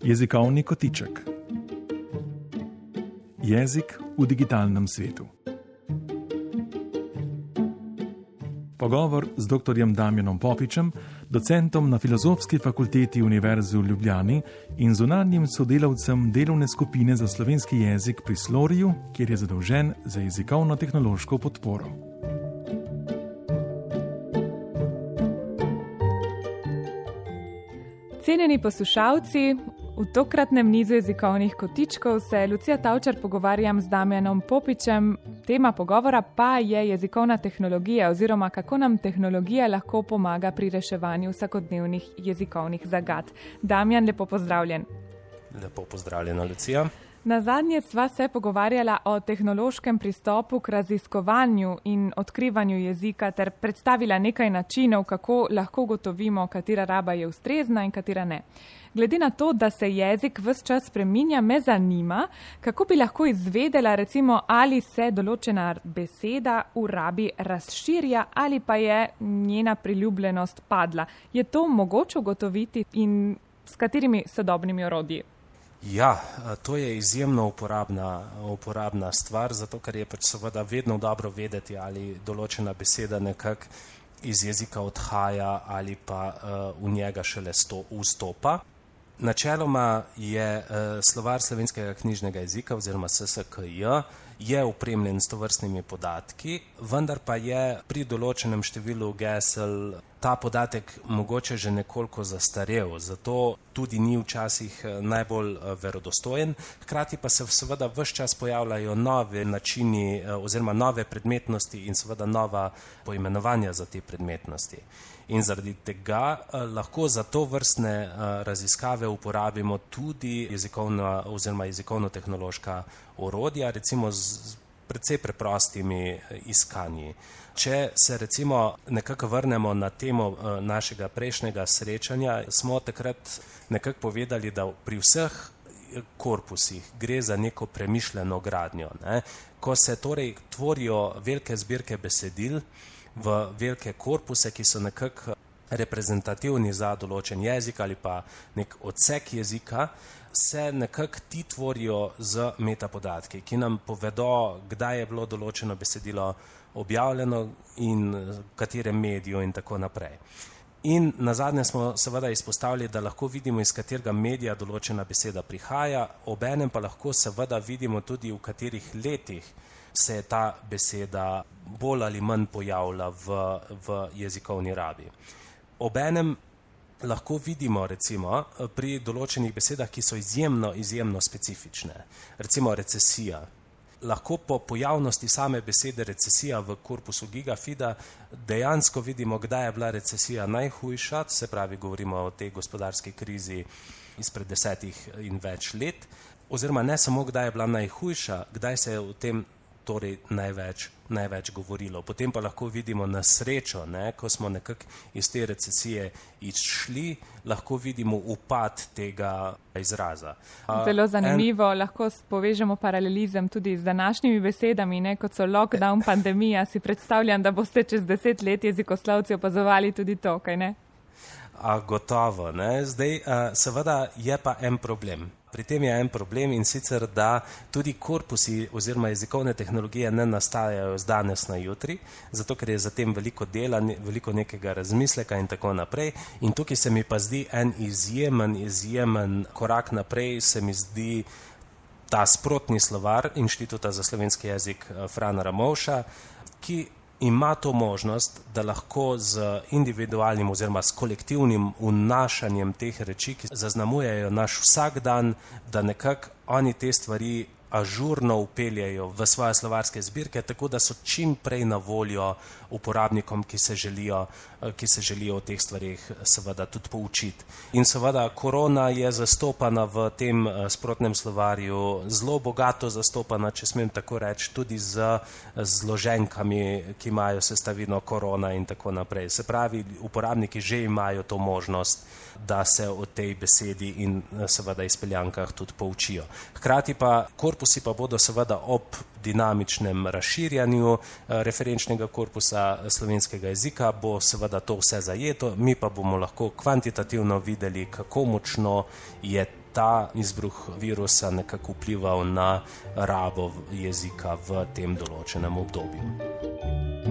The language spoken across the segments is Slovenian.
Jezikovni kotiček. Jezik v digitalnem svetu. Pogovor z dr. Damjanom Popičem, docentom na Filozofski fakulteti Univerze v Ljubljani in zunanjim sodelavcem delovne skupine za slovenski jezik pri Sloriju, kjer je zadolžen za jezikovno-tehnološko podporo. Cenjeni poslušalci, v tokratnem nizu jezikovnih kotičkov se Lucija Tavčar pogovarjam z Damjanom Popičem. Tema pogovora pa je jezikovna tehnologija oziroma kako nam tehnologija lahko pomaga pri reševanju vsakodnevnih jezikovnih zagad. Damjan, lepo pozdravljen. Lepo pozdravljena, Lucija. Nazadnje sva se pogovarjala o tehnološkem pristopu k raziskovanju in odkrivanju jezika ter predstavila nekaj načinov, kako lahko ugotovimo, katera raba je ustrezna in katera ne. Glede na to, da se jezik ves čas spreminja, me zanima, kako bi lahko izvedela, recimo, ali se določena beseda v rabi razširja ali pa je njena priljubljenost padla. Je to mogoče ugotoviti in s katerimi sodobnimi orodji? Ja, to je izjemno uporabna stvar, zato ker je pač seveda vedno dobro vedeti, ali določena beseda nekako iz jezika odhaja ali pa v njega šele vstopa. Načeloma je slovar slovenskega knjižnega jezika oziroma SSKJ je opremljen s tovrstnimi podatki, vendar pa je pri določenem številu gesel ta podatek mogoče že nekoliko zastarel, zato tudi ni včasih najbolj verodostojen. Hkrati pa se seveda ves čas pojavljajo nove načini oziroma nove predmetnosti in seveda nova poimenovanja za te predmetnosti. In zaradi tega lahko za to vrstne raziskave uporabimo tudi jezikovna oziroma jezikovno-tehnološka orodja, recimo z precej preprostimi iskanji. Če se recimo nekako vrnemo na temo našega prejšnjega srečanja, smo takrat nekako povedali, da pri vseh korpusih gre za neko premišljeno gradnjo, ne? Ko se torej tvorijo velike zbirke besedil v velike korpuse, ki so nekako reprezentativni za določen jezik ali pa nek odsek jezika, se nekako ti tvorijo z metapodatki, ki nam povedo, kdaj je bilo določeno besedilo objavljeno in v katerem mediju in tako naprej. In nazadnje smo seveda izpostavili, da lahko vidimo, iz katerega medija določena beseda prihaja, obenem pa lahko seveda vidimo tudi, v katerih letih se je ta beseda bolj ali manj pojavila v jezikovni rabi. Obenem lahko vidimo recimo pri določenih besedah, ki so izjemno specifične. Recimo recesija. Lahko po pojavnosti same besede recesija v korpusu Gigafida dejansko vidimo, kdaj je bila recesija najhujša, se pravi, govorimo o tej gospodarski krizi izpred 10 in več let, oziroma ne samo, kdaj je bila najhujša, kdaj se je o tem torej največ govorilo. Potem pa lahko vidimo na srečo, ne, ko smo nekako iz te recesije izšli, lahko vidimo upad tega izraza. Zelo zanimivo, lahko povežemo paralelizem tudi z današnjimi besedami, ne, kot so lockdown, pandemija. Si predstavljam, da boste čez 10 let jezikoslovci opazovali tudi to, kaj ne? Gotovo, ne. Zdaj, seveda je pa en problem. Pri tem je en problem in sicer, da tudi korpusi oziroma jezikovne tehnologije ne nastajajo z danes na jutri, zato ker je za tem veliko dela, veliko nekega razmisleka in tako naprej. In tukaj se mi pa zdi en izjemen korak naprej, se mi zdi ta sprotni slovar Inštituta za slovenski jezik Frana Ramovša, ki ima to možnost, da lahko z individualnim oziroma s kolektivnim vnašanjem teh reči, ki zaznamujejo naš vsak dan, da nekako oni te stvari ažurno vpeljejo v svoje slovarske zbirke, tako da so čim prej na voljo uporabnikom, ki se želijo o teh stvarih seveda tudi poučiti. In seveda korona je zastopana v tem sprotnem slovarju, zelo bogato zastopana, če smem tako reči, tudi z zloženkami, ki imajo sestavino korona in tako naprej. Se pravi, uporabniki že imajo to možnost, da se o tej besedi in seveda izpeljankah tudi poučijo. Hkrati pa korpusi pa bodo seveda ob dinamičnem razširjanju referenčnega korpusa slovenskega jezika, bo seveda to vse zajeto, mi pa bomo lahko kvantitativno videli, kako močno je ta izbruh virusa nekako vplival na rabo jezika v tem določenem obdobju.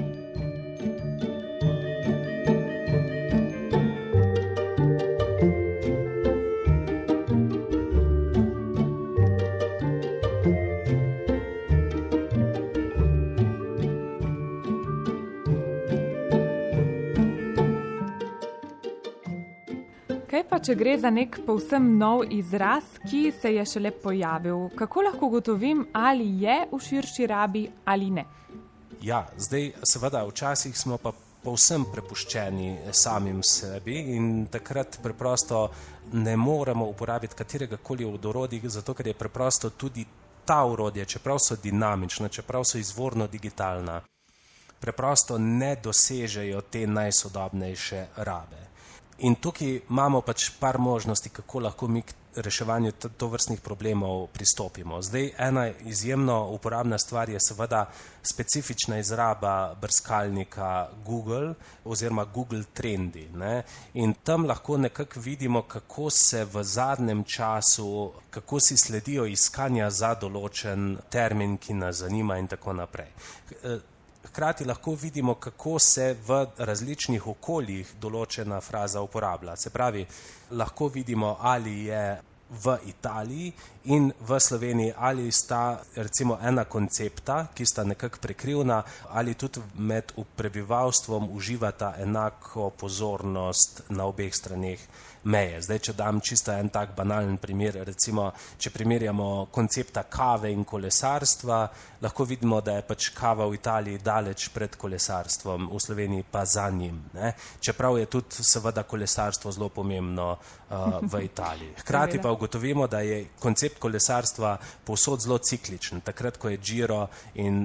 Kaj pa, če gre za nek povsem nov izraz, ki se je šele pojavil? Kako lahko ugotovim, ali je v širši rabi ali ne? Ja, zdaj seveda včasih smo pa povsem prepuščeni samim sebi in takrat preprosto ne moremo uporabiti kateregakoli od orodij, zato ker je preprosto tudi ta orodja, čeprav so dinamična, čeprav so izvorno digitalna, preprosto ne dosežejo te najsodobnejše rabe. In tukaj imamo pač par možnosti, kako lahko mi k reševanju tovrstnih problemov pristopimo. Zdaj, ena izjemno uporabna stvar je seveda specifična izraba brskalnika Google oziroma Google Trendi, ne? In tam lahko nekako vidimo, kako se v zadnjem času, kako si sledijo iskanja za določen termin, ki nas zanima in tako naprej. Hkrati lahko vidimo, kako se v različnih okoljih določena fraza uporablja. Se pravi, lahko vidimo, ali je v Italiji in v Sloveniji, ali sta recimo ena koncepta, ki sta nekako prekrivna, ali tudi med prebivalstvom uživata enako pozornost na obeh straneh meje. Zdaj, če dam čisto en tak banalen primer, recimo, če primerjamo koncepta kave in kolesarstva, lahko vidimo, da je pač kava v Italiji daleč pred kolesarstvom, v Sloveniji pa za njim, ne? Čeprav je tudi seveda kolesarstvo zelo pomembno v Italiji. Hkrati pa ugotovimo, da je koncept kolesarstva povsod zelo cikličen. Takrat, ko je Giro in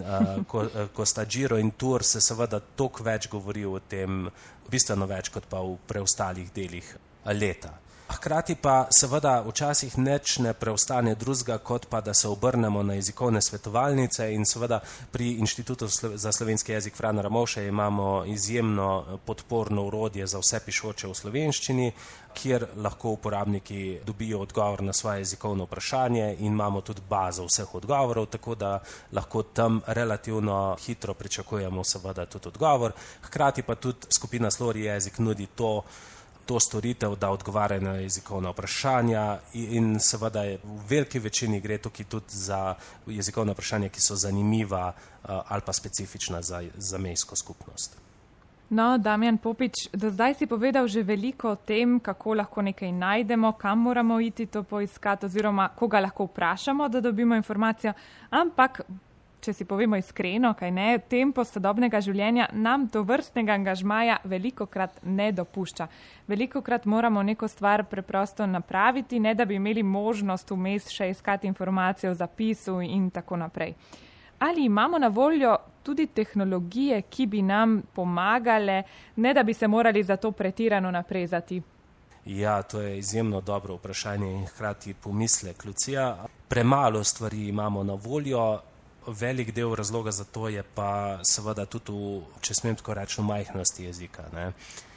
ko sta Giro in Tour, se seveda toliko več govori o tem, bistveno več kot pa v preostalih delih leta. Hkrati pa seveda včasih nič ne preostane drugega, kot pa da se obrnemo na jezikovne svetovalnice in seveda pri Inštitutu za slovenski jezik Frana Ramovša imamo izjemno podporno orodje za vse pišoče v slovenščini, kjer lahko uporabniki dobijo odgovor na svoje jezikovno vprašanje in imamo tudi bazo vseh odgovorov, tako da lahko tam relativno hitro pričakujemo seveda tudi odgovor. Hkrati pa tudi skupina Slori jezik nudi to storitev, da odgovarjajo na jezikovna vprašanja in seveda v veliki večini gre tukaj tudi za jezikovna vprašanja, ki so zanimiva ali pa specifična za zamejsko skupnost. No, Damjan Popič, do zdaj si povedal že veliko o tem, kako lahko nekaj najdemo, kam moramo iti to poiskati oziroma koga lahko vprašamo, da dobimo informacijo, ampak če si povemo iskreno, kaj ne, tempo sodobnega življenja nam to vrstnega angažmaja velikokrat ne dopušča. Velikokrat moramo neko stvar preprosto napraviti, ne da bi imeli možnost vmes še iskati informacije o zapisu in tako naprej. Ali imamo na voljo tudi tehnologije, ki bi nam pomagale, ne da bi se morali za to pretirano naprezati? Ja, to je izjemno dobro vprašanje in hkrati pomislek, Lucija. Premalo stvari imamo na voljo. Velik del razloga za to je pa seveda tudi če smem tako reči, v majhnosti jezika, ne?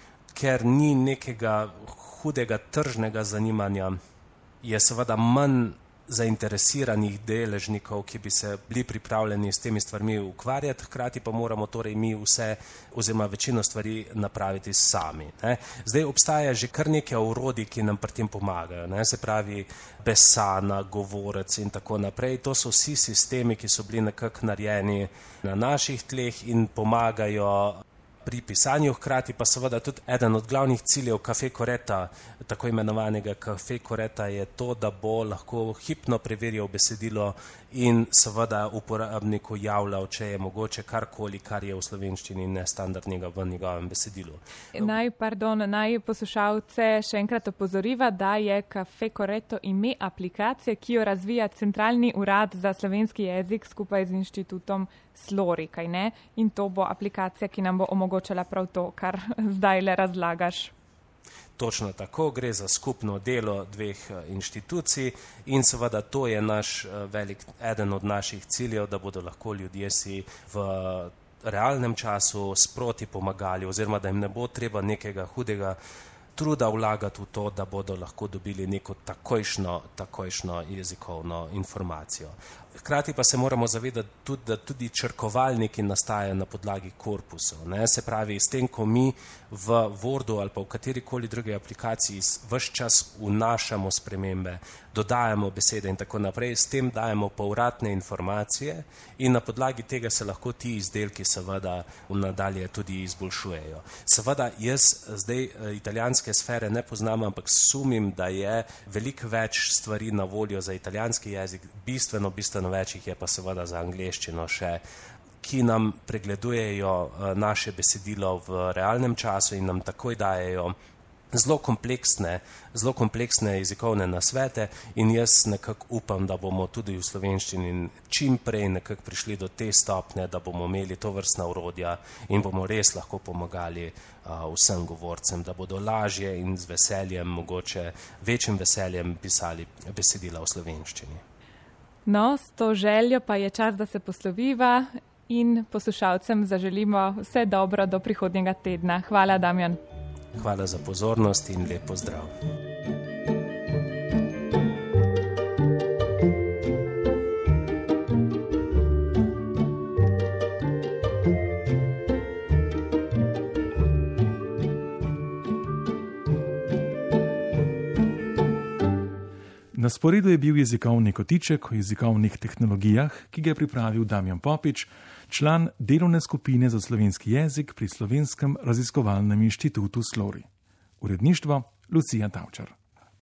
Ker ni nekega hudega tržnega zanimanja, je seveda manj zainteresiranih deležnikov, ki bi se bili pripravljeni s temi stvarmi ukvarjati, hkrati pa moramo torej mi vse oziroma večino stvari napraviti sami, ne? Zdaj obstaja že kar nekaj orodij, ki nam pri tem pomagajo, ne? Se pravi Besana, Govorec in tako naprej. To so vsi sistemi, ki so bili nekako narejeni na naših tleh in pomagajo pri pisanju, hkrati pa seveda tudi eden od glavnih ciljev Café Coretta, tako imenovanega Café Coretta, je to, da bo lahko hipno preverjal besedilo in seveda uporabniku javljal, če je mogoče karkoli, kar je v slovenščini nestandardnega v njegovem besedilu. Naj poslušalce še enkrat opozoriva, da je Café Corretto ime aplikacije, ki jo razvija Centralni urad za slovenski jezik skupaj z Inštitutom Slori, kaj ne? In to bo aplikacija, ki nam bo omogočala prav to, kar zdaj le razlagaš. Točno tako, gre za skupno delo dveh inštitucij in seveda to je eden od naših ciljev, da bodo lahko ljudje si v realnem času sproti pomagali oziroma da jim ne bo treba nekega hudega truda vlagati v to, da bodo lahko dobili neko takojšno jezikovno informacijo. Hkrati pa se moramo zavedati tudi, da tudi črkovalniki nastajajo na podlagi korpusov. Se pravi, s tem, ko mi v Wordu ali pa v katerikoli drugi aplikaciji ves čas vnašamo spremembe, dodajamo besede in tako naprej, s tem dajemo povratne informacije in na podlagi tega se lahko ti izdelki seveda v nadalje tudi izboljšujejo. Seveda jaz zdaj italijanske sfere ne poznam, ampak sumim, da je veliko več stvari na voljo za italijanski jezik, bistveno več jih je pa seveda za angleščino še, ki nam pregledujejo naše besedilo v realnem času in nam takoj dajejo zelo kompleksne jezikovne nasvete in jaz nekako upam, da bomo tudi v slovenščini čim prej nekako prišli do te stopnje, da bomo imeli tovrstna orodja in bomo res lahko pomagali vsem govorcem, da bodo lažje in z veseljem, mogoče večjim veseljem pisali besedila v slovenščini. No, s to željo pa je čas, da se posloviva in poslušalcem zaželimo vse dobro do prihodnjega tedna. Hvala, Damjan. Hvala za pozornost in lep pozdrav. Na sporedu je bil jezikovni kotiček o jezikovnih tehnologijah, ki ga je pripravil Damjan Popič, član delovne skupine za slovenski jezik pri Slovenskem raziskovalnem inštitutu Slori. Uredništvo Lucija Tavčar.